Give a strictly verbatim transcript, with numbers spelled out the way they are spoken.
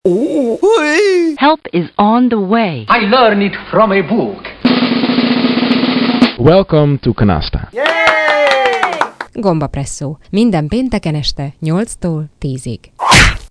Help is on the way. I learned it from a book. Welcome to Canasta. Gombapresszó. Minden pénteken este nyolctól tízig.